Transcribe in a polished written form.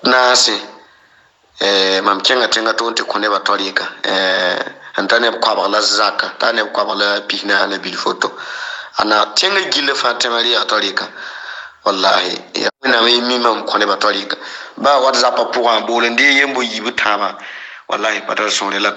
naase mam kenga tenga to te kone ba torika antane kwa ba la zaka tane kwa ba la pihna la bil photo ana tenga gille fatima ya torika wallahi ya na mi mam kone ba torika ba whatsapp pour un bol ndi yembo yibu tama wallahi patar son la